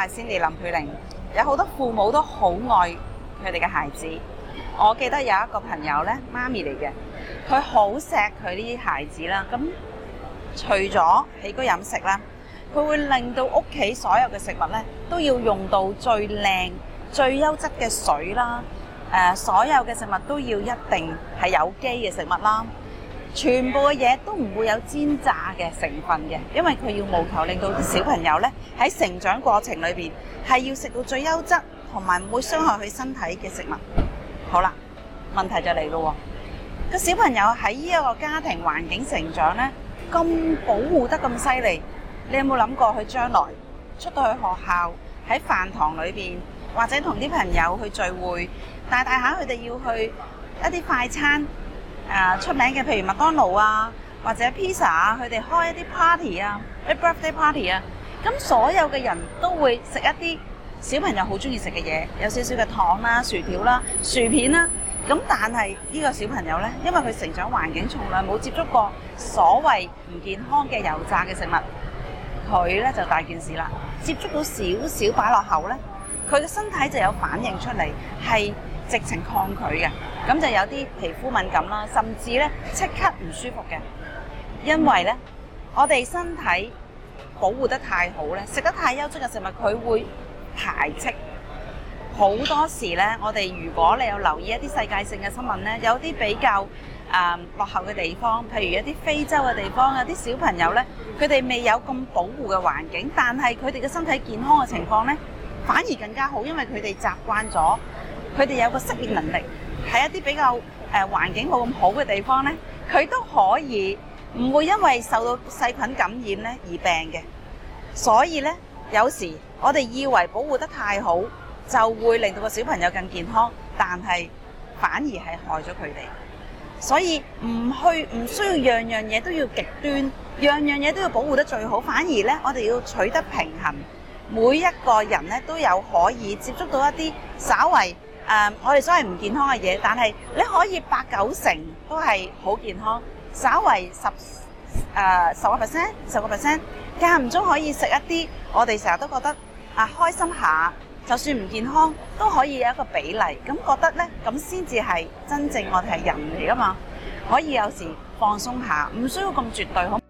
係Cindy林佩玲。有好多父母都好愛佢哋嘅孩子。我記得有一個朋友呢，媽咪嚟嘅，佢好錫佢呢啲孩子啦。咁除咗起居飲食啦，佢會令到屋企所有嘅食物呢都要用到最靚、最優質嘅水啦。所有嘅食物都要一定係有機嘅食物啦。全部嘅嘢都唔會有煎炸嘅成分嘅，因為佢要務求令到啲小朋友呢喺成長過程裏邊係要食到最優質同埋唔會傷害佢身體嘅食物。好啦，問題就嚟咯喎，個小朋友喺呢一個家庭環境成長呢，咁保護得咁犀利，你有冇諗過佢將來出到去學校喺飯堂裏邊，或者同啲朋友去聚會，大下佢哋要去一啲快餐出名嘅，譬如麥當勞啊，或者 pizza 啊，佢哋開一啲 party 啊，一 birthday party 啊，咁所有嘅人都會食一啲小朋友好中意食嘅嘢，有少少嘅糖啦、薯條啦、薯片啦。咁但係呢個小朋友呢，因為佢成長環境從來冇接觸過所謂唔健康嘅油炸嘅食物，佢呢就大件事啦。接觸到少少擺落口呢，佢嘅身體就有反應出嚟，係直情抗拒嘅，咁就有啲皮膚敏感啦，甚至咧即刻唔舒服嘅。因為咧，我哋身體保護得太好咧，食得太優質嘅食物，佢會排斥。好多時咧，我哋如果你有留意一啲世界性嘅新聞咧，有啲比較落後嘅地方，譬如一啲非洲嘅地方，有啲小朋友咧，佢哋未有咁保護嘅環境，但係佢哋嘅身體健康嘅情況咧，反而更加好，因為佢哋習慣咗。佢哋有個適應能力，喺一啲比較環境冇咁好嘅地方呢，佢都可以唔會因為受到細菌感染呢而病嘅。所以呢，有時我哋以為保護得太好，就會令到個小朋友更健康，但係反而係害咗佢哋。所以唔需要樣樣嘢都要極端，樣樣嘢都要保護得最好，反而呢，我哋要取得平衡。每一個人呢都有可以接觸到一啲稍為我哋所謂唔健康嘅嘢，但係你可以8-9成都係好健康，稍為10%，間唔中可以食一啲我哋成日都覺得開心下，就算唔健康都可以有一個比例，咁覺得呢，咁先至係真正我哋係人嚟㗎嘛，可以有時放鬆下，唔需要咁絕對，好。